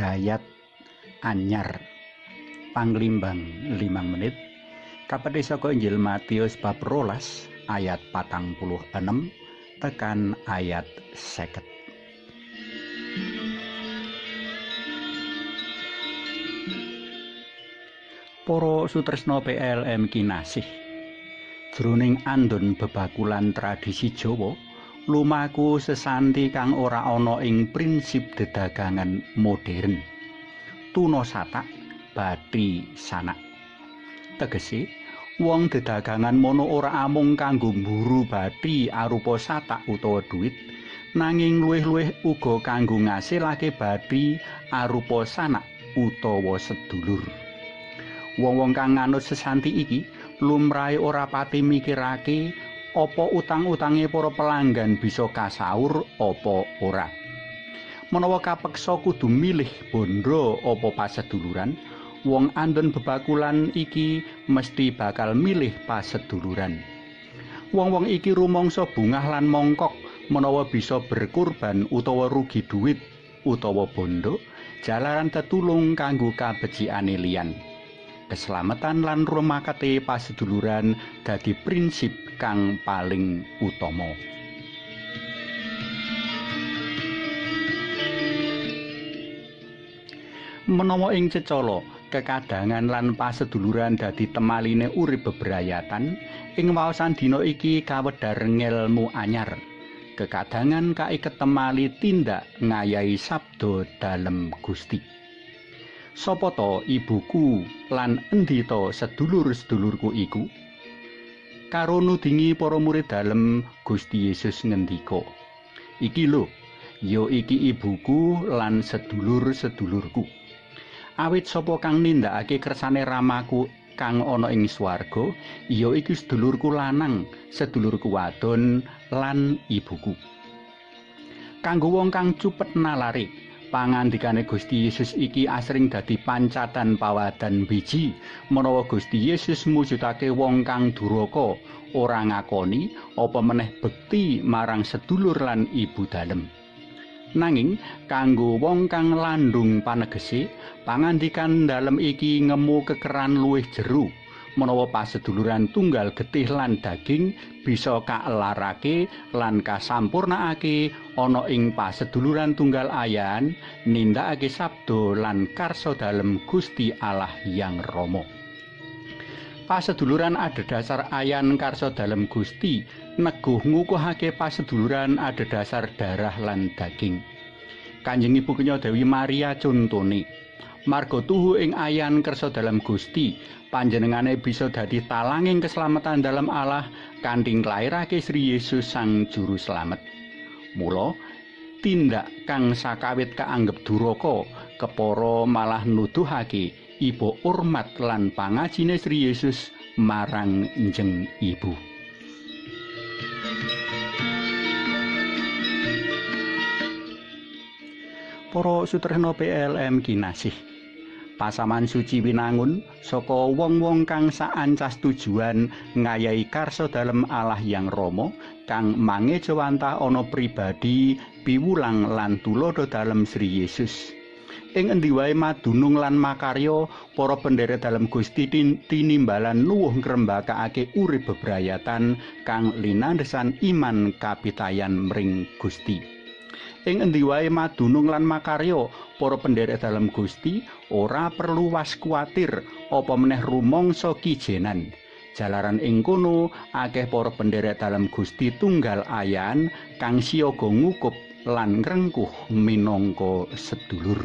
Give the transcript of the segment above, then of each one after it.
Hidayat anyar panglimbang 5 menit kapethé saka Injil Matius bab 12 ayat 46 tekan ayat 50. Para sutresna PLM kinasih, jroning andon bebakulan tradisi Jawa lumaku sesanti kang ora ana ing prinsip dedagangan modern. Tuna satak, bathi sanak. Tegese, wong dedagangan mono ora amung kanggo mburu bathi arupa satak utawa dhuwit, nanging luwih-luwih uga kanggo ngasilake bathi arupa sanak utawa sedulur. Wong-wong kang nganut sesanti iki lumrahe ora pati mikirake apa utang-utange para pelanggan bisa kasaur apa ora. Menawa kapeksa kudu milih bondo apa paseduluran, wong andon bebakulan iki mesti bakal milih paseduluran. Wong-wong iki rumangsa bungah lan mongkok menawa bisa berkurban utawa rugi dhuwit utawa bondo jalaran tetulung kanggo kabecikane liyan. Keselamatan lan rumakate paseduluran dadi prinsip kang paling utama. Menawa ing cecala kekadangan lan paseduluran dadi temaline urip bebrayatan, ing waosan dina iki kawedhar ngelmu anyar. Kekadangan kaiket temali tindak ngayahi sabda dalem Gusti. Sapa ta ibuku lan endi ta sedulur-sedulurku iku? Karo nudingi para murid dalem, Gusti Yesus ngendika, "Iki lho, ya iki ibuku lan sedulur-sedulurku. Awit sapa kang nindakake kersane Ramaku kang ana ing swarga, ya iki sedulurku lanang, sedulurku wadon lan ibuku." Kanggo wong kang cupet nalare, pangandikane Gusti Yesus iki asring dadi pancatan pawadan biji menawa Gusti Yesus mujudake wong kang duraka ora ngakoni apa meneh bekti marang sedulur lan ibu dalem. Nanging kanggo wong kang landung panegese, pangandikan dalem iki ngemu kekeran luwih jero menawa paseduluran tunggal getih lan daging bisa kaelarake lan kasampurnakake ana ing paseduluran tunggal ayan nindakake sabda lan karsa dalem Gusti Allah Hyang Rama. Paseduluran adhedhasar ayan karsa dalem Gusti neguh ngukuhake paseduluran adhedhasar darah lan daging. Kanjeng Ibu Kenya Dewi Maria contone, marga tuhu ing ayan kersa dalam Gusti, panjenengane bisa dadi talanging keselamatan dalam Allah kanthi nglairake Sri Yesus Sang Juru Slamet. Mula tindak kang sakawit kaanggep duraka kepara malah nuduhake ibu urmat lan pangajine Sri Yesus marang njeng ibu. Para sutresna PLM kinasih, pasaman suci winangun saka wong-wong kang saancas tujuan ngayahi karsa dalem Allah Hyang Rama kang mangejawantah ana pribadi piwulang lan tulodo dalem Sri Yesus. Ing endi wae madunung lan makarya para pendherek dalem Gusti tinimbalan nuwuh ngrembakake urip bebrayatan kang linandhesan iman kapitayan mring Gusti. Ing endi wae madunung lan makarya para pendherek dalem Gusti ora perlu was kuwatir apa meneh rumangsa kijenan. Jalaran ing kono akeh para pendherek dalem Gusti tunggal ayan kang siyaga ngukup lan ngrengkuh minangka sedulur.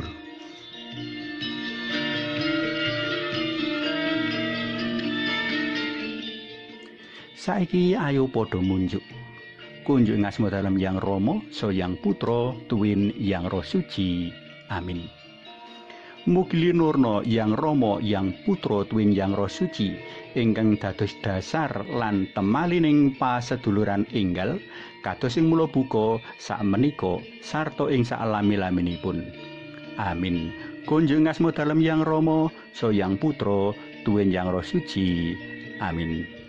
Saiki ayo padha munjuk. Kunjuk ngasmo dalam Yang Rama, so Yang Putra, tuwin Yang Roh Suci. Amin. Mugi linurna Yang Rama, Yang Putra, tuwin Yang Roh Suci, ingkang dados dasar lan temalining paseduluran enggal, kados ing mula buka sakmenika sarta ing salami-laminipun. Amin. Kunjuk ngasmo dalam Yang Rama, so Yang Putra, tuwin Yang Roh Suci. Amin.